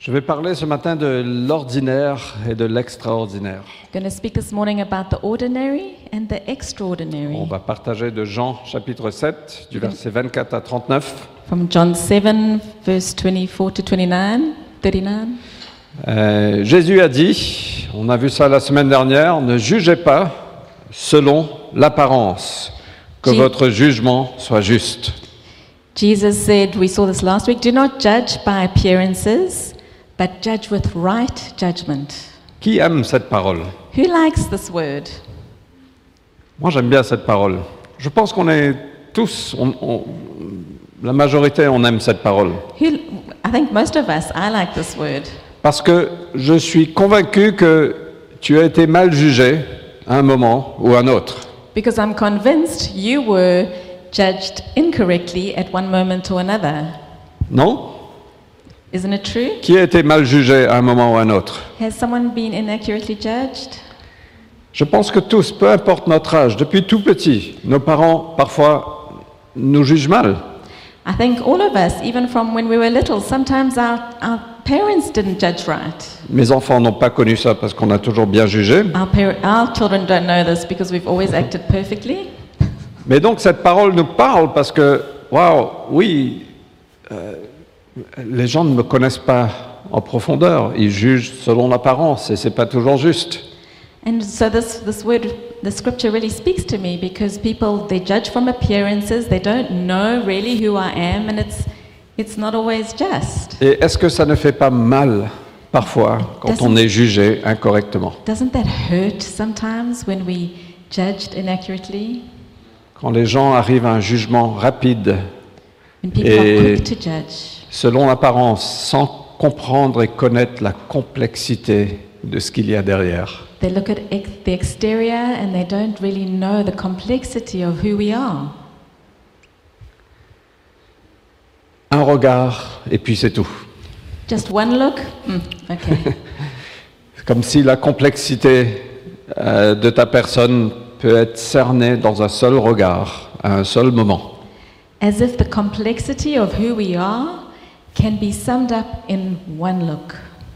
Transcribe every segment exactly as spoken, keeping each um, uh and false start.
Je vais parler ce matin de l'ordinaire et de l'extraordinaire. I'm going to speak this morning about the ordinary and the On extraordinary. va partager de Jean chapitre sept, du verset vingt-quatre à trente-neuf. From John seven, verse twenty-four to twenty-nine, thirty-nine. Euh, Jésus a dit, on a vu ça la semaine dernière, ne jugez pas selon l'apparence, que Ji- votre jugement soit juste. Jesus said, we saw this last week, do not judge by appearances, but judge with right judgment. Qui aime cette parole? Who likes this word? Moi j'aime bien cette parole. Je pense qu'on est tous, on- on- la majorité on aime cette parole. Who, I think most of us, I like this word. Parce que je suis convaincu que tu as été mal jugé à un moment ou à un autre. Because I'm convinced you were judged incorrectly at one moment or another. Non? Isn't it true? Qui a été mal jugé à un moment ou à un autre? Has someone been inaccurately judged? Je pense que tous, peu importe notre âge, depuis tout petit, nos parents parfois nous jugent mal. I think all of us, even from when we were little, sometimes our, our parents didn't judge right. Mes enfants n'ont pas connu ça parce qu'on a toujours bien jugé. Our, par- our children don't know this because we've always acted perfectly. Mais donc cette parole nous parle parce que, waouh, oui, euh, les gens ne me connaissent pas en profondeur. Ils jugent selon l'apparence et c'est pas toujours juste. And so this, this word, the scripture really speaks to me because people, they judge from appearances, they don't know really who I am, and it's, it's not always just. Et est-ce que ça ne fait pas mal parfois quand on est jugé incorrectement? Doesn't that hurt sometimes when we judged inaccurately? Quand les gens arrivent à un jugement rapide, When people Et- are quick to judge, selon l'apparence, sans comprendre et connaître la complexité de ce qu'il y a derrière. they look at ex- the exterior and they don't really know the complexity of who we are. Un regard, et puis c'est tout. Just one look? Hmm, okay. C'est comme si la complexité euh, de ta personne peut être cernée dans un seul regard, à un seul moment. As if the complexity of who we are can be summed up in one look.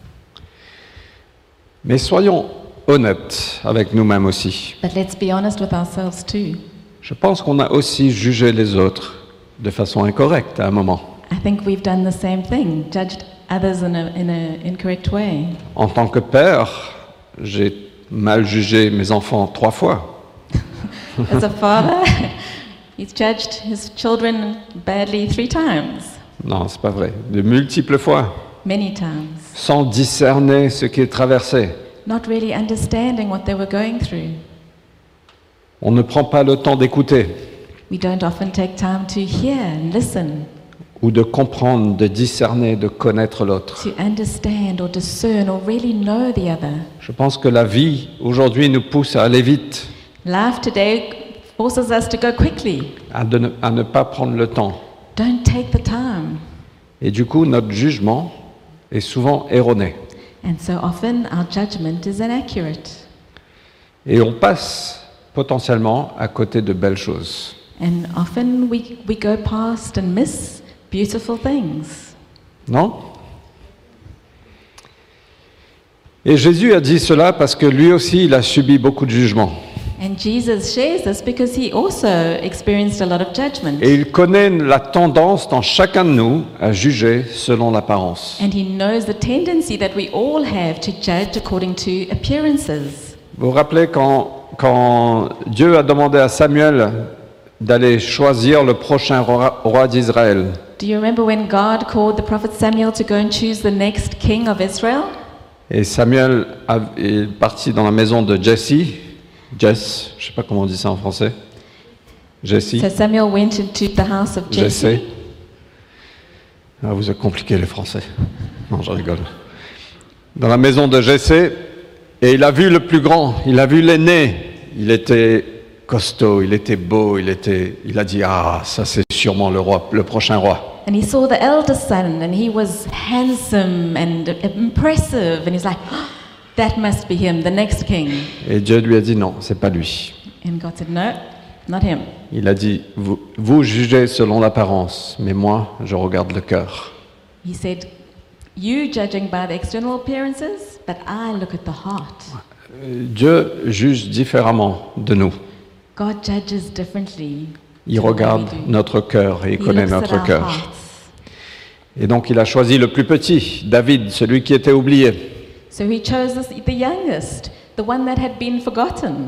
Mais soyons honnêtes avec nous-mêmes aussi. But let's be honest with ourselves too. Je pense qu'on a aussi jugé les autres de façon incorrecte à un moment. I think we've done the same thing, judged others in an in a incorrect way. En tant que père, j'ai mal jugé mes enfants trois fois. As a father, he's judged his children badly three times, Non, c'est pas vrai. De multiples fois, many times, sans discerner ce qu'ils traversaient. not really understanding what they were going through. On ne prend pas le temps d'écouter We don't often take time to hear and listen, ou de comprendre, de discerner, de connaître l'autre. to understand or discern or really know the other. Je pense que la vie aujourd'hui nous pousse à aller vite, Life today forces us to go quickly. à, de ne, à ne pas prendre le temps. Don't take the time. Et du coup, notre jugement est souvent erroné. And so often our judgment is inaccurate. Et on passe potentiellement à côté de belles choses. And often we, we go past and miss beautiful things. Non? Et Jésus a dit cela parce que lui aussi, il a subi beaucoup de jugements. And Jesus shares this because he also experienced a lot of judgment. Et il connaît la tendance dans chacun de nous à juger selon l'apparence. And he knows the tendency that we all have to judge according to appearances. Vous vous rappelez quand, quand Dieu a demandé à Samuel d'aller choisir le prochain roi, roi d'Israël? Do you remember when God called the prophet Samuel to go and choose the next king of Israel? Et Samuel a- est parti dans la maison de Jesse. Jess, je ne sais pas comment on dit ça en français. Jesse. So Samuel went into the house of Jesse. Jesse. Ah, vous êtes compliqué les Français. Non, je rigole. Dans la maison de Jesse, et il a vu le plus grand, il a vu l'aîné. Il était costaud, il était beau, il était. Il a dit ah, ça c'est sûrement le roi, le prochain roi. And he saw the eldest son, and he was handsome and impressive, and he's like, "Oh, that must be him, the next king." Et Dieu lui a dit non, c'est pas lui. And God said, "No, not him." Il a dit vous, vous jugez selon l'apparence, mais moi je regarde le cœur. He said, you judging by the external appearances, but I look at the heart. Dieu juge différemment de nous. God judges differently. Il to the way regarde we do. notre cœur et il He connaît looks at notre our cœur. hearts. Et donc il a choisi le plus petit, David, celui qui était oublié. So he chose this, the youngest, the one that had been forgotten.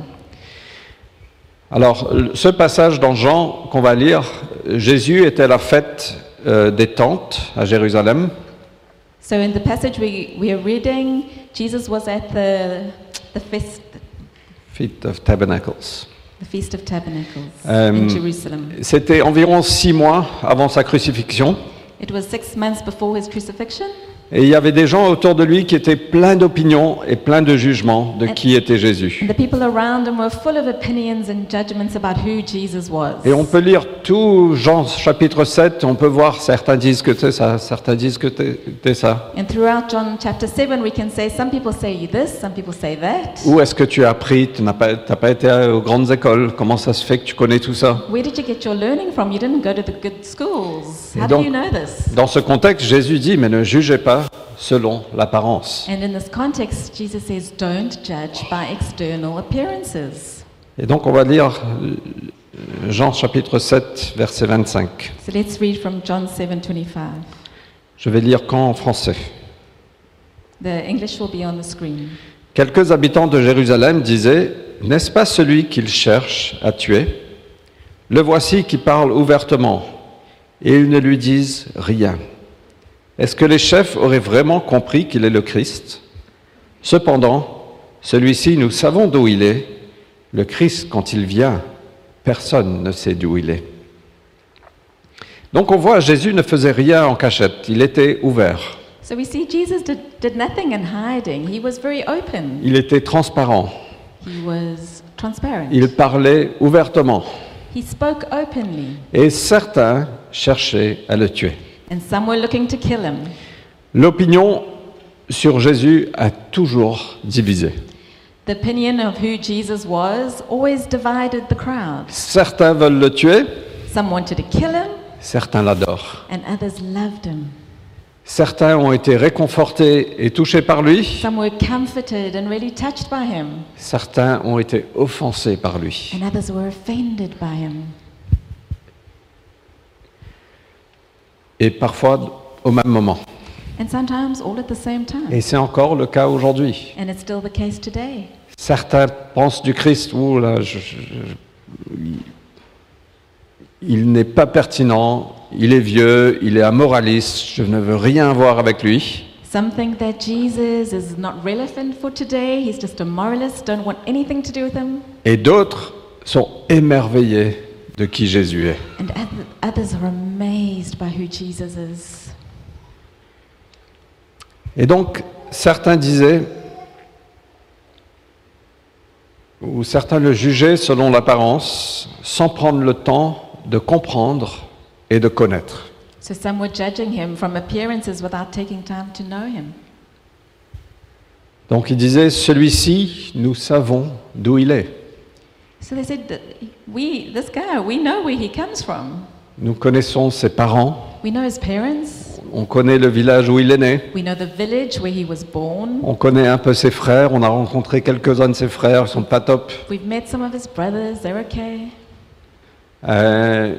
Alors, ce passage dans Jean qu'on va lire, Jésus était à la fête euh, des tentes à Jérusalem. So in the passage we, we are reading, Jesus was at the, the, feast, Feast of Tabernacles. the Feast of Tabernacles Um, in Jerusalem. C'était environ six mois avant sa crucifixion. It was six months before his crucifixion. Et il y avait des gens autour de lui qui étaient pleins d'opinions et pleins de jugements de qui était Jésus. And the people around him were full of opinions and judgments about who Jesus was. Et on peut lire tout Jean chapitre sept, on peut voir certains disent que c'est ça, certains disent que c'est ça. And throughout John chapter seven, we can say some people say this, some people say that. Où est-ce que tu as appris? Tu n'as pas, t'as pas été aux grandes écoles. Comment ça se fait que tu connais tout ça? Where did you get your learning from? You didn't go to the good schools. Et How donc, do you know this? Dans ce contexte, Jésus dit, mais ne jugez pas selon l'apparence. And in this context, Jesus says, don't judge by external appearances. Et donc on va lire Jean chapitre sept, verset vingt-cinq. So let's read from John seven twenty-five. Je vais lire qu'en français. The English will be on the screen. Quelques habitants de Jérusalem disaient, n'est-ce pas celui qu'ils cherchent à tuer? Le voici qui parle ouvertement, et ils ne lui disent rien. Est-ce que les chefs auraient vraiment compris qu'il est le Christ? Cependant, celui-ci, nous savons d'où il est. Le Christ, quand il vient, personne ne sait d'où il est. Donc on voit, Jésus ne faisait rien en cachette, il était ouvert, So we see Jesus did, did nothing in hiding. He was very open. il était transparent, He was transparent. il parlait ouvertement, He spoke openly. et certains cherchaient à le tuer. And some were looking to kill him. L'opinion sur Jésus a toujours divisé. The opinion of who Jesus was always divided the crowd. Certains veulent le tuer, Some wanted to kill him, certains l'adorent. and others loved him. Certains ont été réconfortés et touchés par lui, Some were comforted and really touched by him, certains ont été offensés par lui. and others were offended by him. Et parfois au même moment. And sometimes all at the same time. Et c'est encore le cas aujourd'hui. And it's still the case today. Certains pensent du Christ, ouh là, je- je- je- il n'est pas pertinent, il est vieux, il est amoraliste, je ne veux rien voir avec lui. Some think that Jesus is not relevant for today. He's just a moralist, don't want anything to do with him. Et d'autres sont émerveillés de qui Jésus est. And oth- others are amazed by who Jesus is. Et donc, certains disaient, ou certains le jugeaient selon l'apparence, sans prendre le temps de comprendre et de connaître. So some were judging him from appearances without taking time to know him. Donc ils disaient, celui-ci, nous savons d'où il est. So they said, that we, this guy, we know where he comes from. Nous connaissons ses parents, We know his parents. on connaît le village où il est né, We know the village where he was born. on connaît un peu ses frères, on a rencontré quelques-uns de ses frères, ils sont pas top. We've met some of his brothers. They're okay. Euh,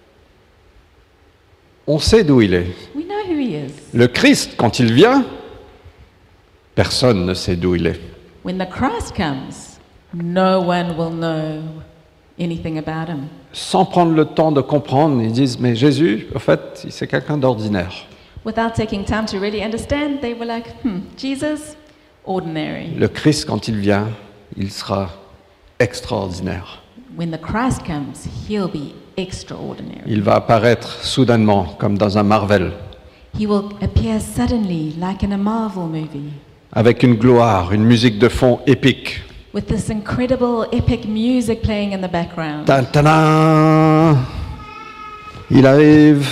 on sait d'où il est. We know who he is. Le Christ, quand il vient, personne ne sait d'où il est. When the Christ comes, no one will know anything about him. Sans prendre le temps de comprendre, ils disent, mais Jésus, en fait, c'est quelqu'un d'ordinaire. Without taking time to really understand, they were like, hmm, Jesus, ordinary. Le Christ, quand il vient, il sera extraordinaire. When the Christ comes, he'll be extraordinary. Il va apparaître soudainement, comme dans un Marvel, He will appear suddenly, like in a Marvel movie, avec une gloire, une musique de fond épique. with this incredible, epic music playing in the background. Tan, tanan, il arrive.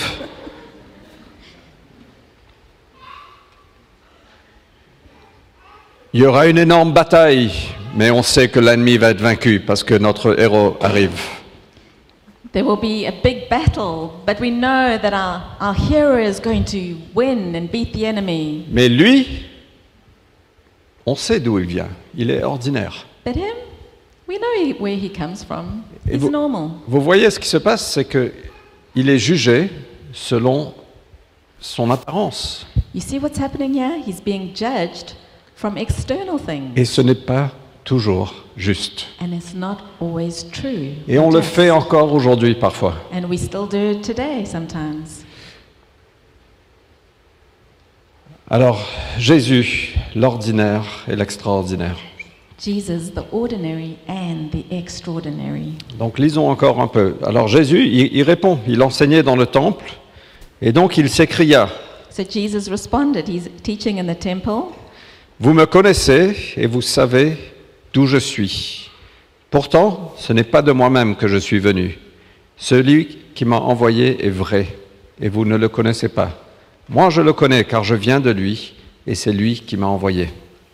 Il y aura une énorme bataille, mais on sait que l'ennemi va être vaincu parce que notre héros arrive. There will be a big battle, but we know that our, our hero is going to win and beat the enemy. Mais lui, on sait d'où il vient. Il est ordinaire. But him, we know he, where he comes from. Et He's vous- normal. Vous voyez ce qui se passe, c'est que il est jugé selon son apparence. You see what's happening here? He's being judged from external things. Et ce n'est pas toujours juste. And it's not always true. Et on le Just. fait encore aujourd'hui parfois. And we still do it today sometimes. Alors, Jésus, l'ordinaire et l'extraordinaire. Jesus, the ordinary and the extraordinary. Donc lisons encore un peu. Alors Jésus, il, il répond, il enseignait dans le temple, et donc il s'écria, So Jesus responded. He's teaching in the temple. vous me connaissez et vous savez d'où je suis. Pourtant, ce n'est pas de moi-même que je suis venu. Celui qui m'a envoyé est vrai, et vous ne le connaissez pas. Moi, je le connais, car je viens de lui, et c'est lui qui m'a envoyé.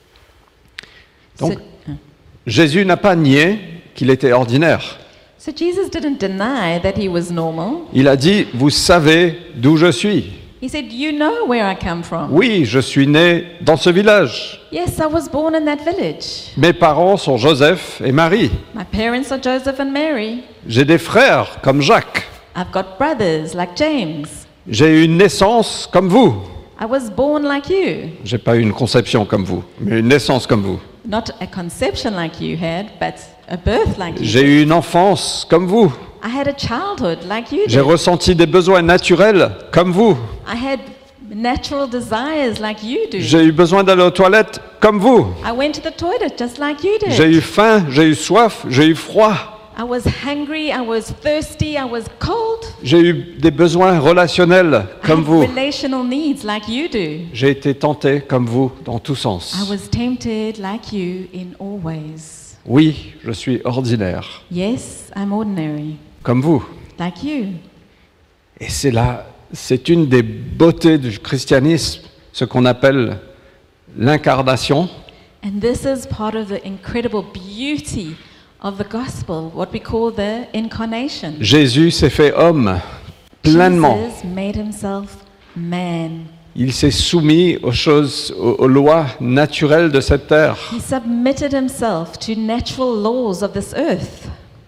Donc, so, uh, Jésus n'a pas nié qu'il était ordinaire. so Jesus didn't deny that he was normal. Il a dit, vous savez d'où je suis. He said, "You know where I come from. Oui, je suis né dans ce village. Yes, I was born in that village. Mes parents sont Joseph et Marie. My parents are Joseph and Mary. J'ai des frères comme Jacques. I've got brothers like James. J'ai eu une naissance comme vous. I was born like you. J'ai pas eu une conception comme vous, mais une naissance comme vous. Not a conception like you had, but a birth like you J'ai did. eu une enfance comme vous. I had a childhood like you J'ai did. ressenti des besoins naturels comme vous. I had natural desires like you do. J'ai eu besoin d'aller aux toilettes comme vous. I went to the toilet just like you did. J'ai eu faim, j'ai eu soif, j'ai eu froid. I was hungry, I was thirsty, I was cold. J'ai eu des besoins relationnels I comme had vous. relational needs like you do. J'ai été tenté comme vous dans tous sens. I was tempted like you in all ways. Oui, je suis ordinaire, Yes, I'm ordinary, comme vous. like you. Et c'est là, c'est une des beautés du christianisme, ce qu'on appelle l'incarnation. And this is part of the incredible beauty of the gospel, what we call the incarnation. Jésus s'est fait homme pleinement. Jesus made himself man. Il s'est soumis aux choses, aux, aux lois naturelles de cette terre. He submitted himself to natural laws of this earth.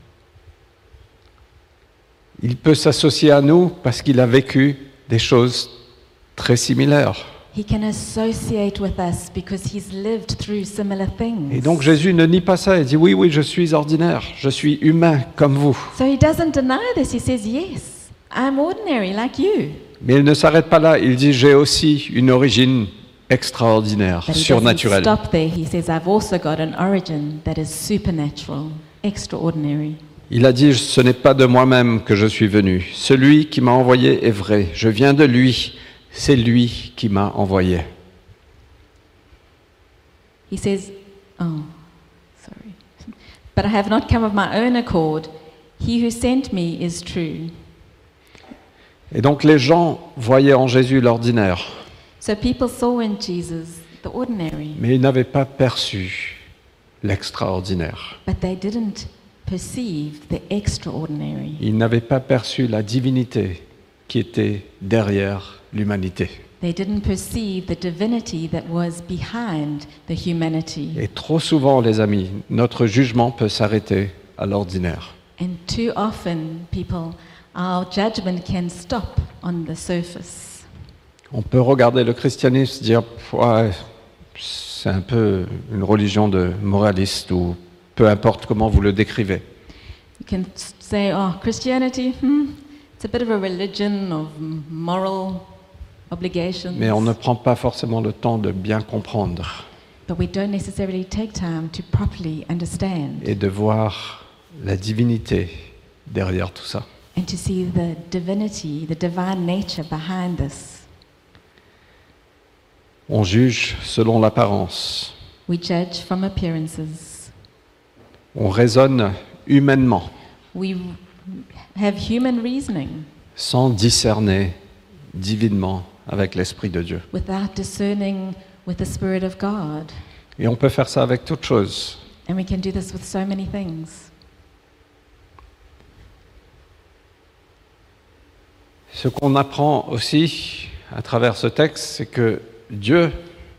Il peut s'associer à nous parce qu'il a vécu des choses très similaires. He can associate with us because he's lived through similar things. Et donc Jésus ne nie pas ça, il dit oui, oui, je suis ordinaire, je suis humain comme vous. So he doesn't deny this. He says, yes, I'm ordinary like you. Mais il ne s'arrête pas là, il dit j'ai aussi une origine extraordinaire, But he doesn't surnaturelle. stop there. He says, I've also got an origin that is supernatural, extraordinary. Il a dit ce n'est pas de moi-même que je suis venu, celui qui m'a envoyé est vrai, je viens de lui, c'est lui qui m'a envoyé. He says, oh, sorry. But I have not come of my own accord. He who sent me is true. Et donc les gens voyaient en Jésus l'ordinaire, So people saw in Jesus the ordinary, mais ils n'avaient pas perçu l'extraordinaire. but they didn't perceive the extraordinary. Ils n'avaient pas perçu la divinité qui était derrière l'humanité. They didn't perceive the divinity that was behind the humanity. Et trop souvent, les amis, notre jugement peut s'arrêter à l'ordinaire. And too often, people, our judgment can stop on the surface. On peut regarder le christianisme et dire ouais, c'est un peu une religion de moralistes ou peu importe comment vous le décrivez. You can s- say, oh, Christianity, hmm, it's a bit of a religion of m- moral obligations. Mais on ne prend pas forcément le temps de bien comprendre But we don't necessarily take time to properly understand et de voir la divinité derrière tout ça. and to see the divinity, the divine nature behind this. On juge selon l'apparence. We judge from appearances. On raisonne humainement, We have human reasoning sans discerner divinement avec l'Esprit de Dieu. without discerning with the Spirit of God. Et on peut faire ça avec toutes choses. And we can do this with so many things. Ce qu'on apprend aussi à travers ce texte, c'est que Dieu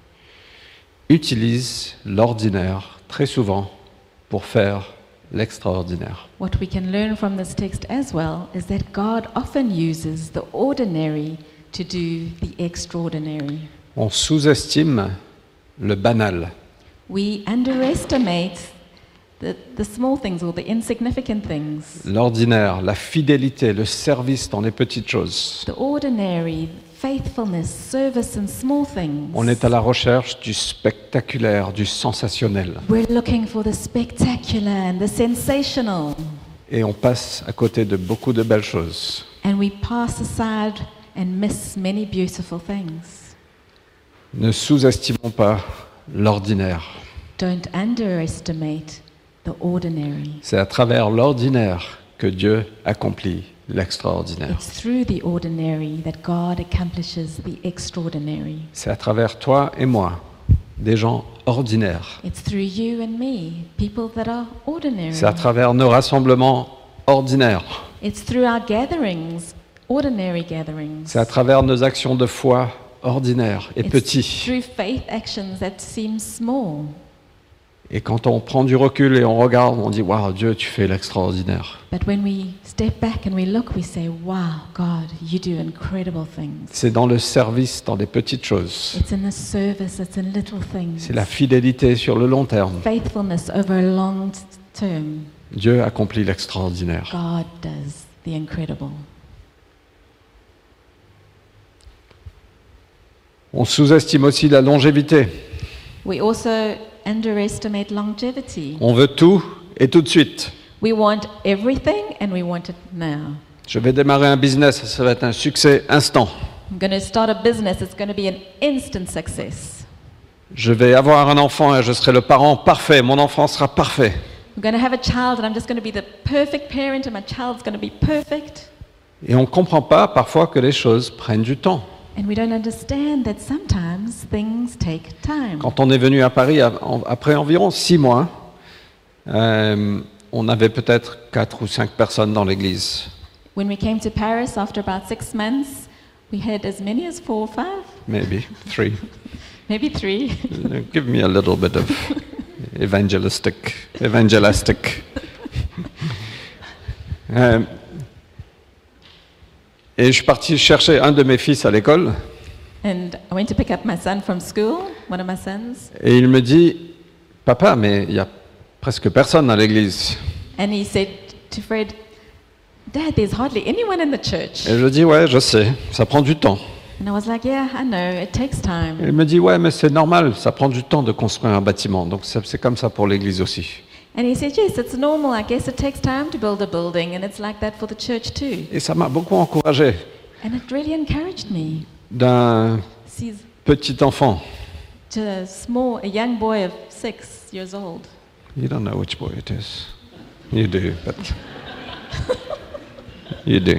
utilise l'ordinaire très souvent pour faire l'extraordinaire. What we can learn from this text as well is that God often uses the ordinary to do the extraordinary. On sous-estime le banal. We underestimate the, the small things or the insignificant things. L'ordinaire, la fidélité, le service dans les petites choses. The ordinary, faithfulness, service in small things. On est à la recherche du spectaculaire, du sensationnel. We're looking for the spectacular and the sensational. Et on passe à côté de beaucoup de belles choses. And we pass aside and miss many beautiful things. Ne sous-estimons pas l'ordinaire. Don't underestimate the ordinary. C'est à travers l'ordinaire que Dieu accomplit l'extraordinaire. It's through the ordinary that God accomplishes the extraordinary. C'est à travers toi et moi, des gens ordinaires. It's through you and me, people that are ordinary. C'est à travers nos rassemblements ordinaires. It's through our gatherings, ordinary gatherings. C'est à travers nos actions de foi ordinaires et It's petits. through faith actions that seem small. Et quand on prend du recul et on regarde, on dit « Waouh, Dieu, tu fais l'extraordinaire But when we step back and we look, we say, wow, God, you do incredible ». things. C'est dans le service, dans les petites choses. It's in the service, it's in little things. C'est la fidélité sur le long terme. Faithfulness over a long t- term. Dieu accomplit l'extraordinaire. God does the incredible. On sous-estime aussi la longévité. We also underestimate longevity. On veut tout et tout de suite. We want everything and we want it now. Je vais démarrer un business, ça va être un succès instant. I'm going to start a business, it's going to be an instant success. Je vais avoir un enfant et je serai le parent parfait. Mon enfant sera parfait. I'm going to have a child and I'm just going to be the perfect parent and my child's going to be perfect. Et on ne comprend pas parfois que les choses prennent du temps. And we don't understand that sometimes things take time. Quand on est venu à Paris a- en- après environ six mois, euh, on avait peut-être quatre ou cinq personnes dans l'église. When we came to Paris after about six months, we had as many as four or five, Maybe three. maybe three. Give me a little bit of evangelistic, evangelistic. Euh, et je suis parti chercher un de mes fils à l'école And I went to pick up my son from school, one of my sons, et il me dit « Papa, mais il y a presque personne dans l'église. and he said to Fred, Dad, there's hardly anyone in the » church. Et je dis « Ouais, je sais, ça prend du temps. And I was like, yeah, I know, it takes Et time. il me dit « Ouais, mais c'est normal, ça prend du temps de construire un bâtiment. Donc c'est c'est comme ça pour l'église aussi. » And he said, yes, it's normal. I guess it takes time to build a building, and it's like that for the church too. Et ça m'a beaucoup encouragé And it really encouraged me. d'un See, petit enfant. to a small, a young boy of six years old. You don't know which boy it is. You do, but you do.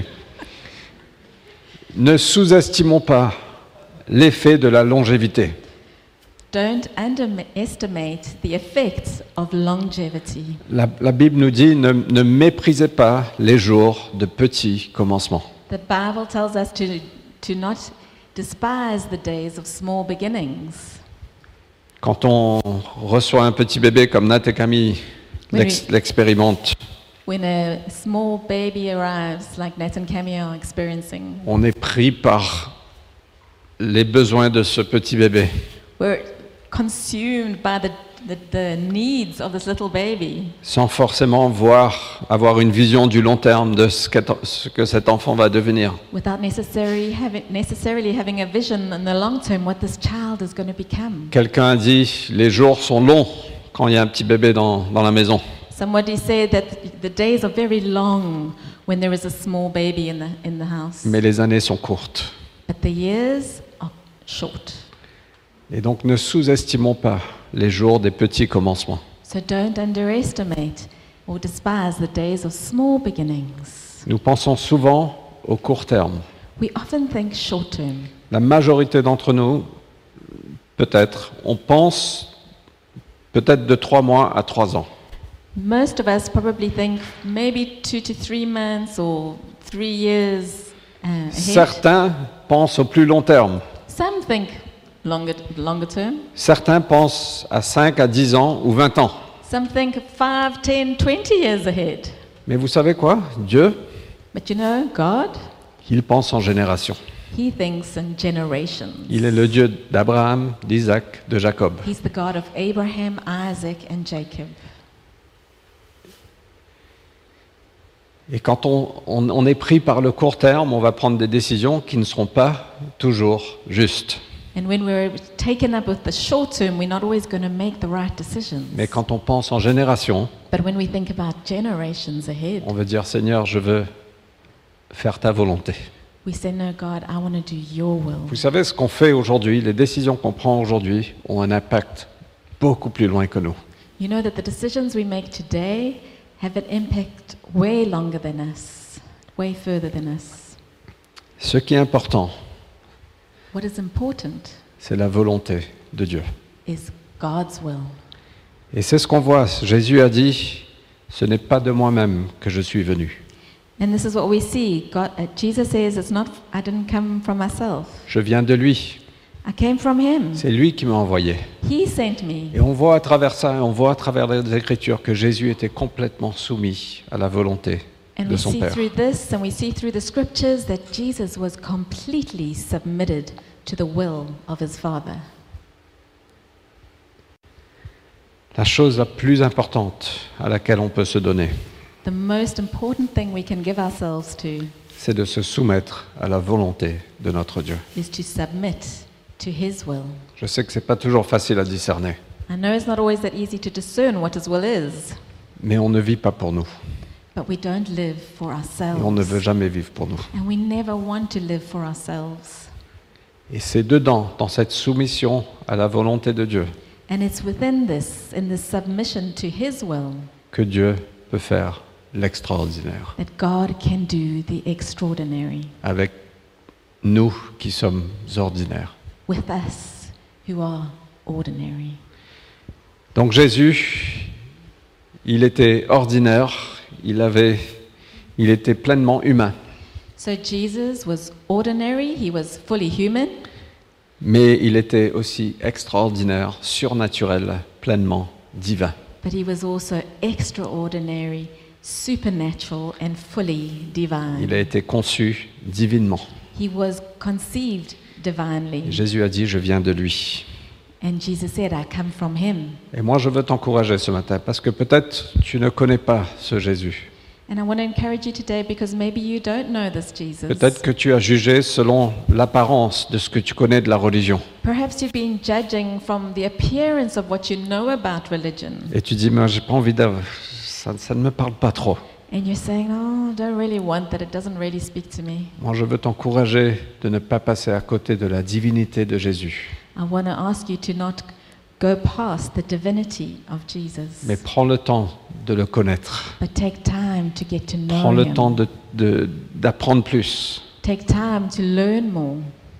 Ne sous-estimons pas l'effet de la longévité. Don't underestimate the effects of longevity. La, la Bible nous dit ne, ne méprisez pas les jours de petits commencements. The Bible tells us to, to not despise the days of small beginnings. Quand on reçoit un petit bébé comme Nat et Camille Oui, l'ex- oui. l'expérimentent, When a small baby arrives, like Nat and Camille are experiencing, on est pris par les besoins de ce petit bébé. we're consumed by the, the, the needs of this little baby Sans forcément voir, avoir une vision du long terme de ce, qu'est- ce que cet enfant va devenir. without necessarily having, necessarily having a vision in the long term what this child is going to become. Quelqu'un a dit, les jours sont longs quand il y a un petit bébé dans, dans la maison. Somebody said that the days are very long when there is a small baby in the, in the house, Mais les années sont courtes. but the years are short. Et donc ne sous-estimons pas les jours des petits commencements. So don't underestimate or despise the days of small beginnings. Nous pensons souvent au court terme. We often think short term. La majorité d'entre nous, peut-être, on pense peut-être de trois mois à trois ans. Most of us probably think maybe two to three months or three years. uh, ahead. Certains pensent au plus long terme. Some think longer, longer term. Certains pensent à cinq, à dix ans ou vingt ans. Some think five, ten, twenty years ahead. Mais vous savez quoi? Dieu, But you know, God, il pense en génération. He thinks in generations. Il est le Dieu d'Abraham, d'Isaac, de Jacob. He's the God of Abraham, Isaac, and Jacob. Et quand on, on, on est pris par le court terme, on va prendre des décisions qui ne seront pas toujours justes. And when we're taken up with the short term, we're not always going to make the right decisions. Mais quand on pense en génération, But when we think about generations ahead, on veut dire, Seigneur, je veux faire ta volonté. we say, no, God, I want to do your will. Vous savez, ce qu'on fait aujourd'hui, les décisions qu'on prend aujourd'hui, ont un impact beaucoup plus loin que nous. You know that the decisions we make today have an impact way longer than us, way further than us. Ce qui est important, What is important c'est la volonté de Dieu. is God's will. Et c'est ce qu'on voit. Jésus a dit, ce n'est pas de moi-même que je suis venu. And this is what we see. God, uh, Jesus says, "It's not. I didn't come from myself. Je viens de lui. I came from Him. C'est lui qui m'a envoyé. He sent me." Et on voit à travers ça, on voit à travers les Écritures que Jésus était complètement soumis à la volonté And de we son see Père. through this, and we see through the scriptures that Jesus was completely submitted to the will of His Father. La chose la plus importante à laquelle on peut se donner, The most important thing we can give ourselves to c'est de se soumettre à la volonté de notre Dieu. is to submit to His will. Je sais que c'est pas toujours facile à discerner, I know it's not always that easy to discern what His will is, mais on ne vit pas pour nous. but we don't live for Et on ne veut ourselves. jamais vivre pour nous. And we never want to live for ourselves. Et c'est dedans, dans cette soumission à la volonté de Dieu, And it's within this, in this submission to His will, que Dieu peut faire l'extraordinaire that God can do the extraordinary avec nous qui sommes ordinaires. with us who are ordinary. Donc Jésus, il était ordinaire, il avait, il était pleinement humain, So Jesus was ordinary, He was fully human, mais il était aussi extraordinaire, surnaturel, pleinement divin. but He was also extraordinary, supernatural, and fully divine. Il a été conçu divinement. He was conceived divinely. Jésus a dit, je viens de lui. And Jesus said, I come from Him. Et moi, je veux t'encourager ce matin, parce que peut-être tu ne connais pas ce Jésus. And I want to encourage you today because maybe you don't know this Jesus. Peut-être que tu as jugé selon l'apparence de ce que tu connais de la religion. Perhaps you've been judging from the appearance of what you know about religion. Et tu dis, mais j'ai pas envie d'avoir... Ça, ça ne me parle pas trop. And you're saying, oh, I don't really want that. It doesn't really speak to me. Moi, je veux t'encourager de ne pas passer à côté de la divinité de Jésus. I want to ask you to not go past the divinity of Jesus. Mais prends le temps de le connaître. But take time to get to know Prends le Him. temps de, de, d'apprendre plus. Take time to learn more.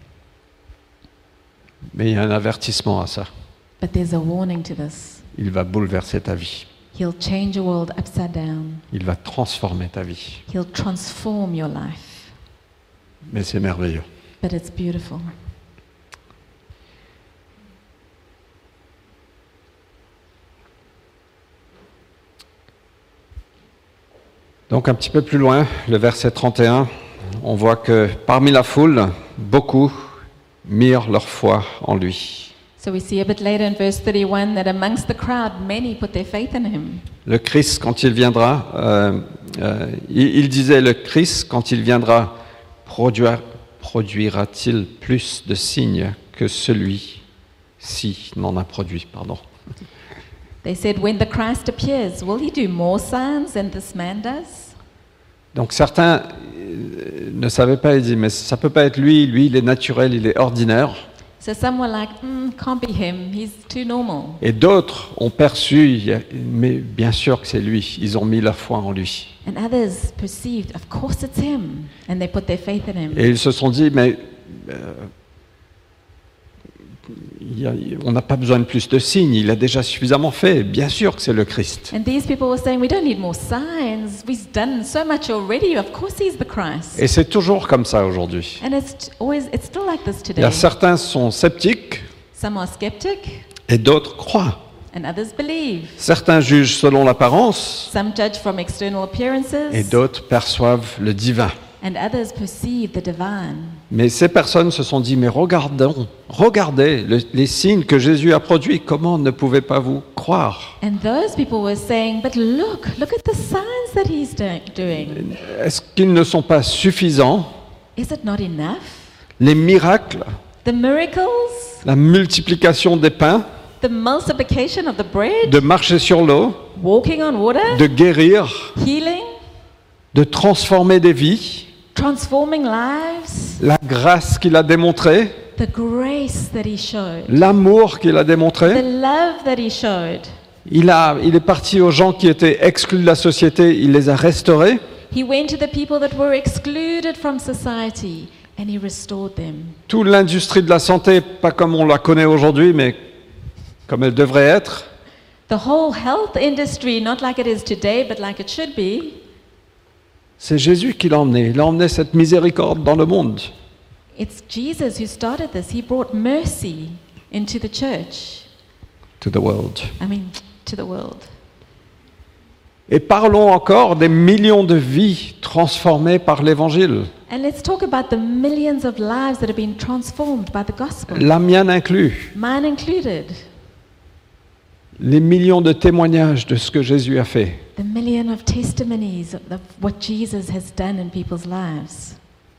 Mais il y a un avertissement à ça. But there's a warning to this. Il va bouleverser ta vie. He'll change your world upside down. Il va transformer ta vie. He'll transform your life. Mais c'est merveilleux. But it's beautiful. Donc un petit peu plus loin, le verset trente et un, on voit que parmi la foule, beaucoup mirent leur foi en lui. So we see a bit later in verse thirty-one that amongst the crowd many put their faith in Him. Le Christ, quand il viendra, euh, euh, il, il disait, le Christ, quand il viendra, produira, produira-t-il plus de signes que celui-ci n'en a produit, pardon. They said, when the Christ appears, will He do more signs than this man does? Donc certains euh, ne savaient pas, ils disaient, mais ça peut pas être lui, lui il est naturel, il est ordinaire. So some were like, mm, can't be him, he's too normal. Et d'autres ont perçu, il y a- mais bien sûr que c'est lui, ils ont mis la foi en lui. And others perceived, of course it's him, and they put their faith in him. Et ils se sont dit, mais euh, il y a, on n'a pas besoin de plus de signes, il a déjà suffisamment fait. Bien sûr que c'est le Christ. And these people were saying, we don't need more signs. We've done so much already. Of course he's the Christ. Et c'est toujours comme ça aujourd'hui. And it's always, it's still like this Il today. y a certains sont sceptiques Some are skeptic et d'autres croient. and others believe. Certains jugent selon l'apparence Some judge from external appearances et d'autres perçoivent le divin. and others perceive the divine. Mais ces personnes se sont dit, mais regardons, regardez le- les signes que Jésus a produits, comment ne pouvez pas vous croire? And those people were saying, but look, look at the signs that he's do- doing. Est-ce qu'ils ne sont pas suffisants? Is it not enough? Les miracles, The miracles, la multiplication des pains, the multiplication of the bread, de marcher sur l'eau, walking on water, de guérir, healing, de transformer des vies, transforming lives, la grâce qu'il a démontrée, the grace that he showed, l'amour qu'il a the démontré. love that he showed. Il, a, il est parti aux gens qui étaient exclus de la société, il les a restaurés. He went to the people that were excluded from society and he restored them. Toute l'industrie de la santé, pas comme on la connaît aujourd'hui, mais comme elle devrait être, The whole health industry, not like it is today, but like it should be, c'est Jésus qui l'a emmené. Il a emmené cette miséricorde dans le monde. it's Jesus who started this. He brought mercy into the church. To the world. I mean, to the world. Et parlons encore des millions de vies transformées par l'Évangile, And let's talk about the millions of lives that have been transformed by the gospel, la mienne inclus. mine included. Les millions de témoignages de ce que Jésus a fait. The million of testimonies of the- what Jesus has done in people's lives.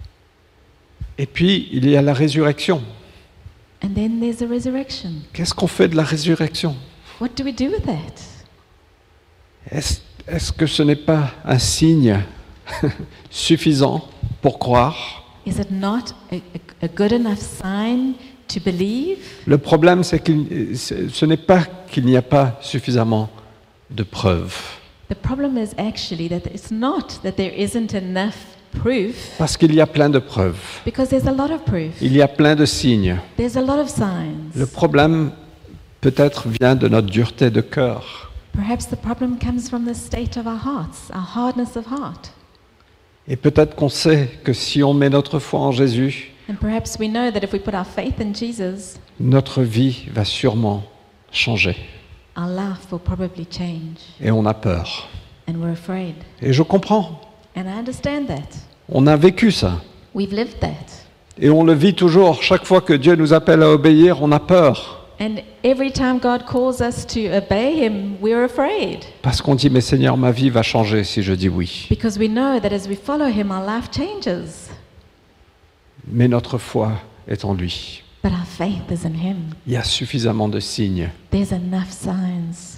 Et puis, il y a la résurrection. And then there's a resurrection. Qu'est-ce qu'on fait de la résurrection? What do we do with that? Est-ce, est-ce que ce n'est pas un signe suffisant pour croire? Is it not a, a, a good enough sign to believe? Le problème, c'est que ce n'est pas qu'il n'y a pas suffisamment de preuves. The problem is actually that it's not that there isn't enough proof, Parce qu'il y a plein de preuves. because there's a lot of proof. Il y a plein de signes. There's a lot of signs. Le problème, peut-être, vient de notre dureté de cœur. Perhaps the problem comes from the state of our hearts, our hardness of heart. Et peut-être qu'on sait que si on met notre foi en Jésus, And perhaps we know that if we put our faith in Jesus, notre vie va sûrement changer. our life will probably change. Et on a peur. And we're afraid. Et je comprends. And I understand that. On a vécu ça. We've lived that. Et on le vit toujours. Chaque fois que Dieu nous appelle à obéir, on a peur. And every time God calls us to obey Him, we're afraid. Parce qu'on dit, mais Seigneur, ma vie va changer si je dis oui. Because we know that as we follow Him, our life changes. Mais notre foi est en lui. But our faith is in Him. Il y a suffisamment de signes. There's enough signs.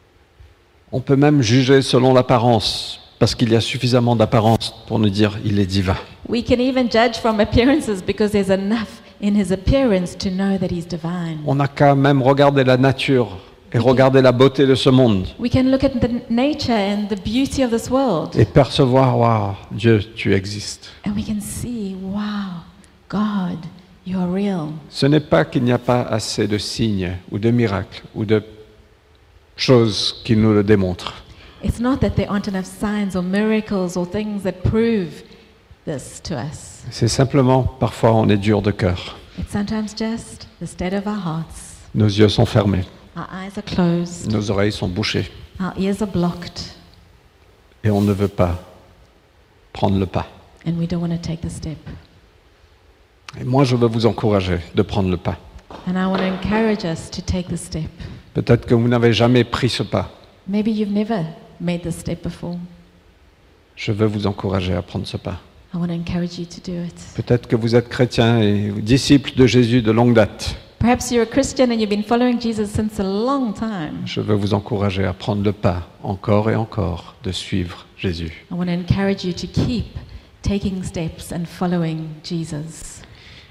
On peut même juger selon l'apparence, parce qu'il y a suffisamment d'apparence pour nous dire, il est divin. We can even judge from appearances because there's enough in His appearance to know that He's divine. On n'a qu'à même regarder la nature et regarder la beauté de ce monde We can look at the nature and the beauty of this world, et percevoir, waouh, Dieu, tu existes. and we can see, wow, God, you are real. Ce n'est pas qu'il n'y a pas assez de signes ou de miracles ou de choses qui nous le démontrent. It's not that there aren't enough signs or miracles or things that prove this to us. C'est simplement, parfois, on est dur de cœur. It's sometimes just the state of our hearts. Nos yeux sont fermés, Our eyes are closed, nos oreilles sont bouchées our ears are blocked, et on ne veut pas prendre le pas. and we don't want to take the step. Et moi, je veux vous encourager de prendre le pas. And I want to encourage us to take the step. Peut-être que vous n'avez jamais pris ce pas. Maybe you've never made this step before. Je veux vous encourager à prendre ce pas. I want to encourage you to do it. Peut-être que vous êtes chrétien et disciple de Jésus de longue date. Perhaps you're a Christian and you've been following Jesus since a long time. Je veux vous encourager à prendre le pas, encore et encore, de suivre Jésus. I want to encourage you to keep taking steps and following Jesus.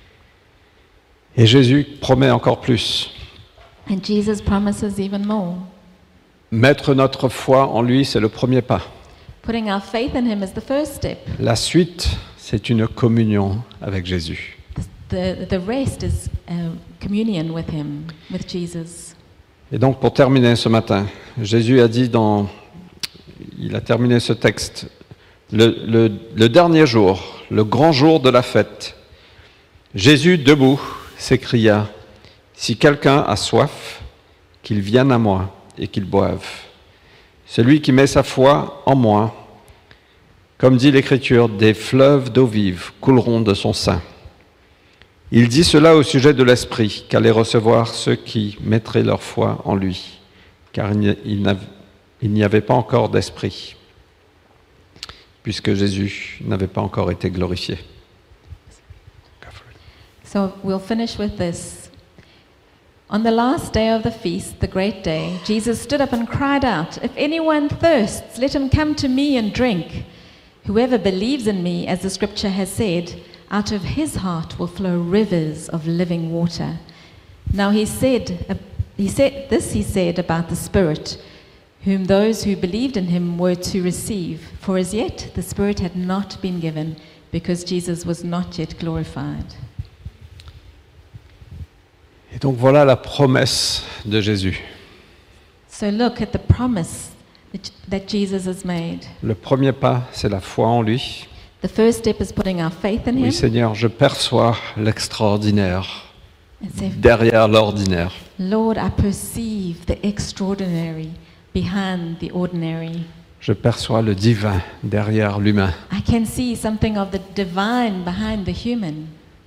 Et Jésus promet encore plus. And Jesus promises even more. Mettre notre foi en lui, c'est le premier pas. Putting our faith in Him is the first step. La suite, c'est une communion avec Jésus. The, the, the rest is uh, communion with him, with Jesus. Et donc pour terminer ce matin, Jésus a dit dans, il a terminé ce texte, le, le, le dernier jour, le grand jour de la fête, Jésus debout s'écria, « Si quelqu'un a soif, qu'il vienne à moi et qu'il boive. Celui qui met sa foi en moi, comme dit l'Écriture, des fleuves d'eau vive couleront de son sein. » Il dit cela au sujet de l'Esprit qu'allaient recevoir ceux qui mettraient leur foi en lui, car il n'y avait pas encore d'Esprit, puisque Jésus n'avait pas encore été glorifié. So we'll finish with this. On the last day of the feast, the great day, Jesus stood up and cried out, "If anyone thirsts, let him come to me and drink. Whoever believes in me, as the scripture has said, out of his heart will flow rivers of living water." Now he said, uh, he said this he said about the Spirit, whom those who believed in him were to receive. For as yet the Spirit had not been given, because Jesus was not yet glorified. Et donc voilà la promesse de Jésus. So look at the promise that, that Jesus has made. Le premier pas, c'est la foi en lui. The first step is putting our faith in Oui, him. Seigneur, je perçois l'extraordinaire And say, derrière l'ordinaire. Lord, I perceive the extraordinary behind the ordinary. Je perçois le divin derrière l'humain. I can see something of the divine behind the human.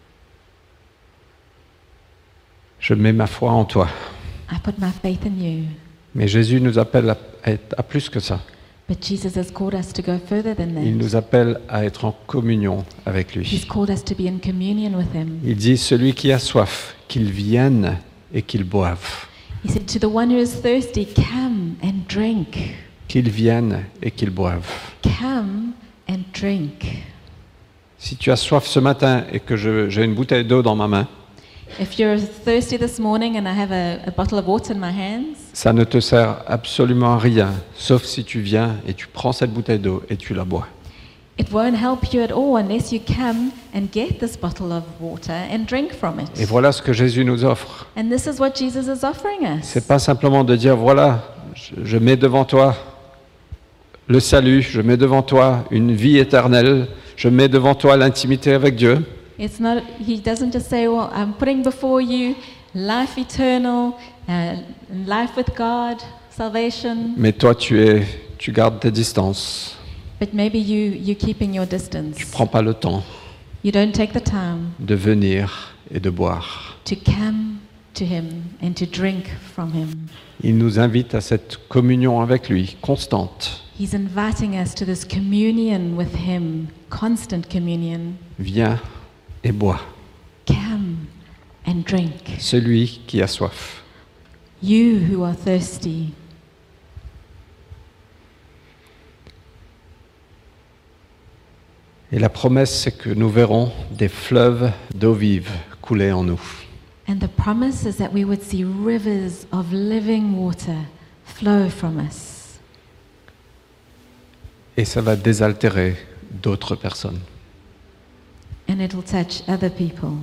Je mets ma foi en toi. I put my faith in you. Mais Jésus nous appelle à, être, à plus que ça. But Jesus has called us to go further than that. Il nous appelle à être en communion avec lui. He's called us to be in communion with him. Il dit, celui qui a soif, qu'il vienne et qu'il boive. He said, to the one who is thirsty, come and drink. Qu'il vienne et qu'il boive. Come and drink. Si tu as soif ce matin et que je, j'ai une bouteille d'eau dans ma main, If you're thirsty this morning and I have a, a bottle of water in my hands, ça ne te sert absolument à rien, sauf si tu viens et tu prends cette bouteille d'eau et tu la bois. it won't help you at all unless you come and get this bottle of water and drink from it. Et voilà ce que Jésus nous offre. And this is what Jesus is offering us. C'est pas simplement de dire, voilà, je, je mets devant toi le salut, je mets devant toi une vie éternelle, je mets devant toi l'intimité avec Dieu. It's not. He doesn't just say, "Well, I'm putting before you life eternal, uh, life with God, salvation." Mais toi, tu es, tu gardes tes distances. But maybe you you're keeping your distance. Tu prends pas le temps You don't take the time de venir et de boire. to come to Him and to drink from Him. Il nous invite à cette communion avec lui, constante. He's inviting us to this communion with Him, constant communion. Viens et bois. Come and drink. Celui qui a soif. You who are thirsty. Et la promesse, c'est que nous verrons des fleuves d'eau vive couler en nous. And the promise is that we would see rivers of living water flow from us. Et ça va désaltérer d'autres personnes. And it'll touch other people.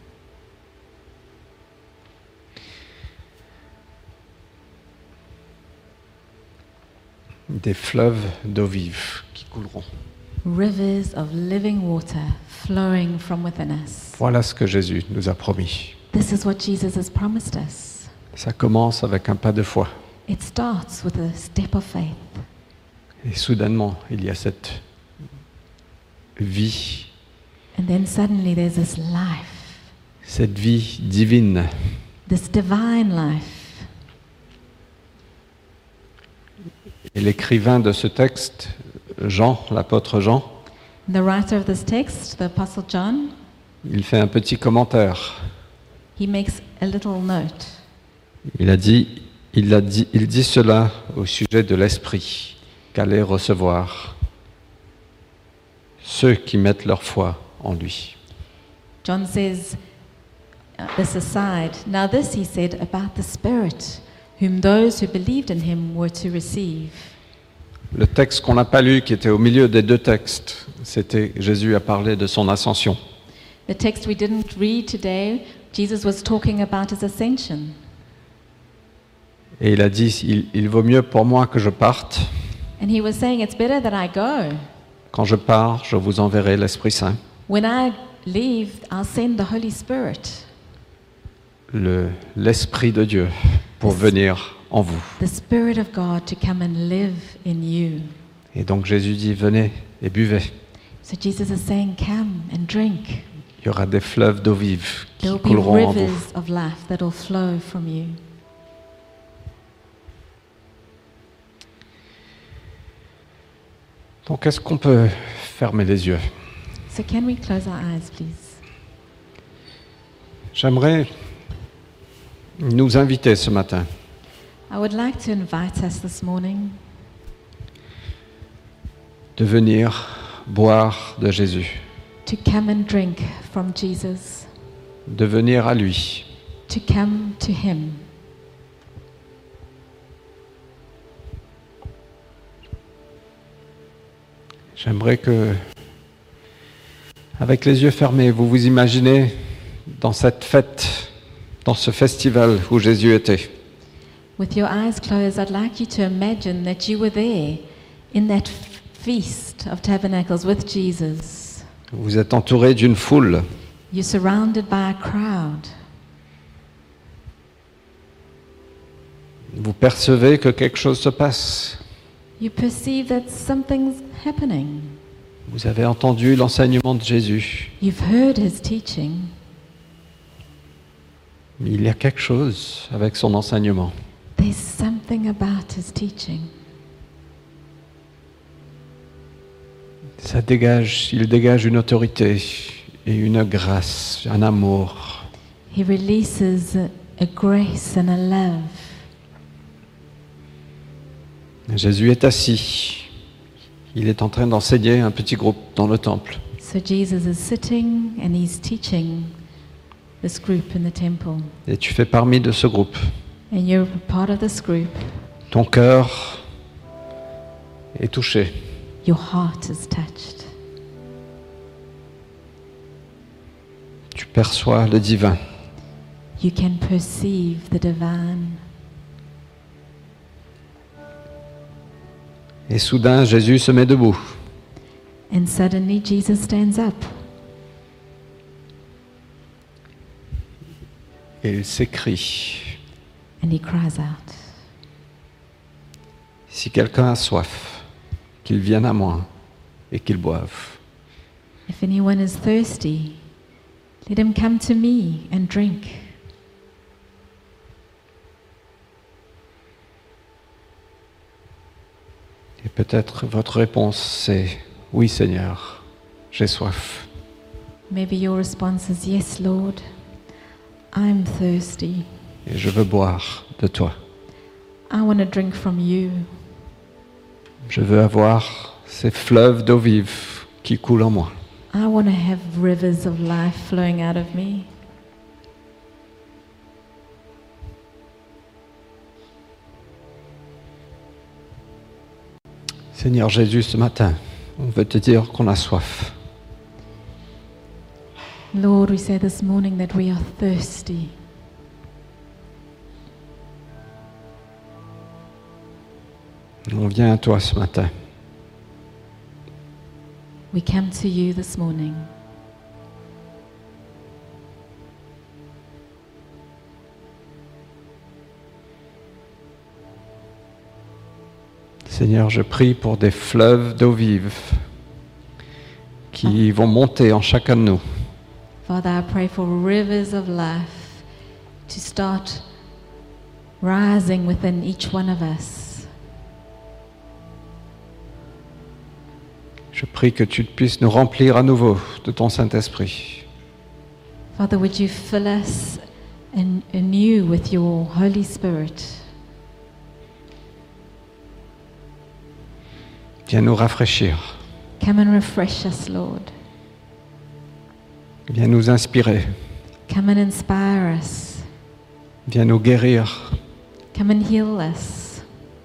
Des fleuves d'eau vive qui couleront. Rivers of living water flowing from within us. Voilà ce que Jésus nous a promis. This is what Jesus has promised us. Ça commence avec un pas de foi. It starts with a step of faith. Et soudainement, il y a cette vie, And then suddenly there's this life, cette vie divine. this divine life. Et l'écrivain de ce texte, Jean, l'apôtre Jean, The writer of this text, the Apostle John, il fait un petit commentaire. he makes a little note. Il a dit, il a dit, il dit cela au sujet de l'esprit qu'allaient recevoir ceux qui mettent leur foi en lui. John says uh, this aside. Now this he said about the Spirit, whom those who believed in him were to receive. Le texte qu'on n'a pas lu, qui était au milieu des deux textes, c'était Jésus a parlé de son ascension. The text we didn't read today Jesus was talking about his ascension. Et il a dit, il, il vaut mieux pour moi que je parte. And he was saying, it's better that I go. Quand je pars, je vous enverrai l'Esprit Saint, When I leave, I'll send the Holy Spirit, le, l'Esprit de Dieu, pour venir en vous. the Spirit of God to come and live in you. Et donc Jésus dit, venez et buvez. So Jesus is saying, come and drink. Il y aura des fleuves d'eau vive qui There will be couleront en vous. rivers of life that will flow from you. Donc est-ce qu'on peut fermer les yeux? So can we close our eyes, please? J'aimerais nous inviter ce matin I would like to invite us this morning de venir boire de Jésus, to come and drink from Jesus, de venir à lui, to come to him. J'aimerais que, avec les yeux fermés, vous vous imaginez dans cette fête, dans ce festival où Jésus était. With your eyes closed, I'd like you to imagine that you were there in that f- feast of tabernacles with Jesus. Vous êtes entouré d'une foule. You're surrounded by a crowd. Vous percevez que quelque chose se passe. You perceive that something's happening. Vous avez entendu l'enseignement de Jésus. You've heard his teaching. Mais il y a quelque chose avec son enseignement. There's something about his teaching. Ça dégage, il dégage une autorité et une grâce, un amour. He releases a, a grace and a love. Jésus est assis. Il est en train d'enseigner un petit groupe dans le temple. So Jesus is sitting and he's teaching this group in the temple. Et tu fais partie de ce groupe. And you're part of this group. Ton cœur est touché. Your heart is touched. Tu perçois le divin. You can perceive the divine. Et soudain, Jésus se met debout. And suddenly Jesus stands up. Et il s'écrie. And he cries out. Si quelqu'un a soif, qu'il vienne à moi et qu'il boive. If anyone is thirsty, let him come to me and drink. Et peut-être votre réponse c'est « Oui Seigneur, j'ai soif ». Maybe your response is, yes, Lord, I'm thirsty. Et je veux boire de toi. I want to drink from you. Je veux avoir ces fleuves d'eau vive qui coulent en moi. I want to have rivers of life flowing out of me. Seigneur Jésus, ce matin, on veut te dire qu'on a soif. Lord, we say this morning that we are thirsty. On vient à toi ce matin. We come to you this morning. Seigneur, je prie pour des fleuves d'eau vive qui vont monter en chacun de nous. Father, I pray for rivers of life to start rising within each one of us. Je prie que tu puisses nous remplir à nouveau de ton Saint-Esprit. Father, would you fill us an- anew with your Holy Spirit? Viens nous rafraîchir. Come and refresh us, Lord. Viens nous inspirer. Come and inspire us. Viens nous guérir. Come and heal us.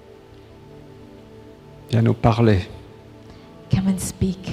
Viens nous parler. Come and speak.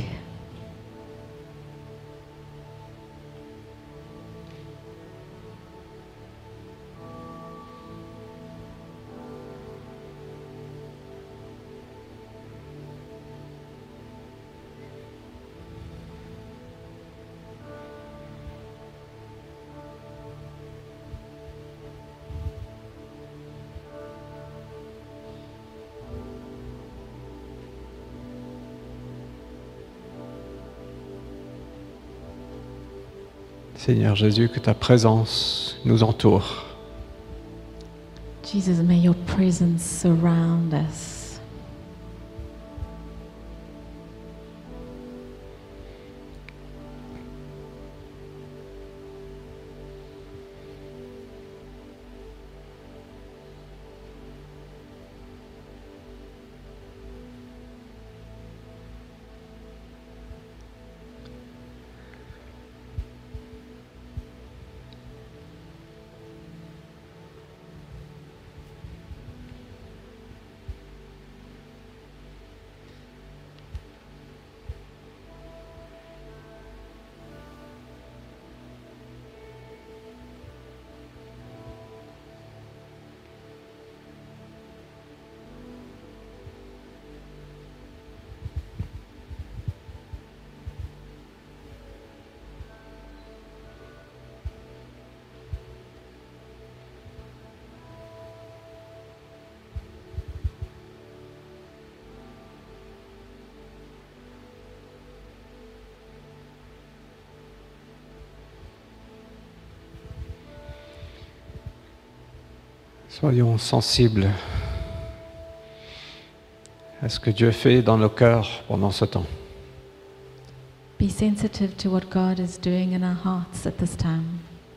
Seigneur Jésus, que ta présence nous entoure. Jesus, may your presence surround us. Soyons sensibles à ce que Dieu fait dans nos cœurs pendant ce temps. Be sensitive to what God is doing in our hearts at this time.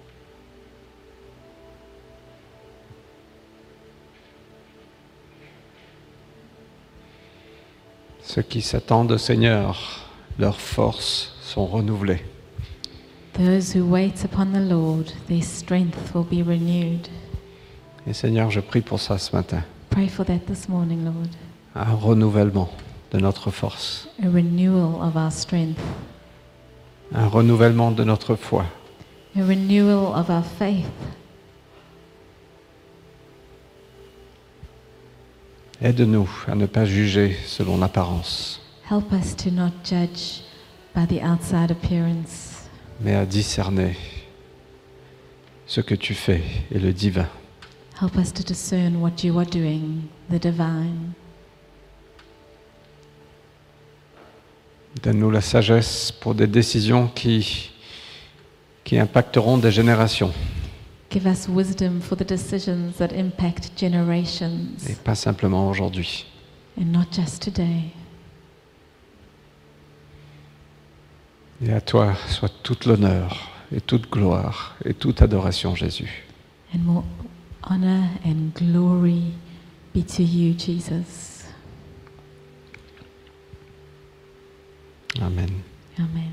Ceux qui s'attendent au Seigneur, leurs forces sont renouvelées. Those who wait upon the Lord, their strength will be renewed. Et Seigneur, je prie pour ça ce matin. Pray for that this morning, Lord. Un renouvellement de notre force. A renewal of our strength. Un renouvellement de notre foi. A renewal of our faith. Aide-nous à ne pas juger selon l'apparence, Help us to not judge by the outside appearance, mais à discerner ce que tu fais et le divin. help us to discern what you are doing, the divine. Donne-nous la sagesse pour des décisions qui, qui impacteront des générations Give us wisdom for the decisions that impact generations, et pas simplement aujourd'hui. and not just today. Et à toi soit toute l'honneur et toute gloire et toute adoration, Jésus. And more honor and glory be to you, Jesus. Amen. Amen.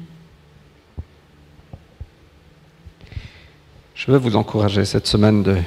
Je veux vous encourager cette semaine de,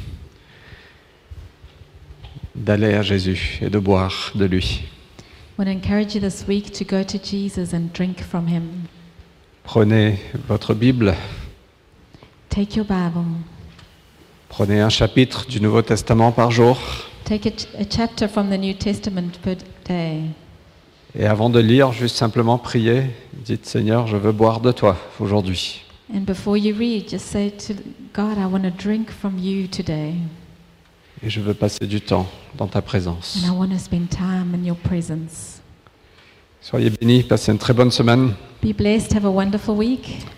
d'aller à Jésus et de boire de lui. I want to encourage you this week to go to Jesus and drink from him. Prenez votre Bible, Take your Bible. prenez un chapitre du Nouveau Testament par jour Take a, ch- a chapter from the New Testament per day. et avant de lire, juste simplement priez, dites Seigneur, je veux boire de toi aujourd'hui. And before you read, just say to God, I want to drink from you today. Et je veux passer du temps dans ta présence. And I want to spend time in your presence. Soyez bénis, passez une très bonne semaine. Be blessed. Have a wonderful week.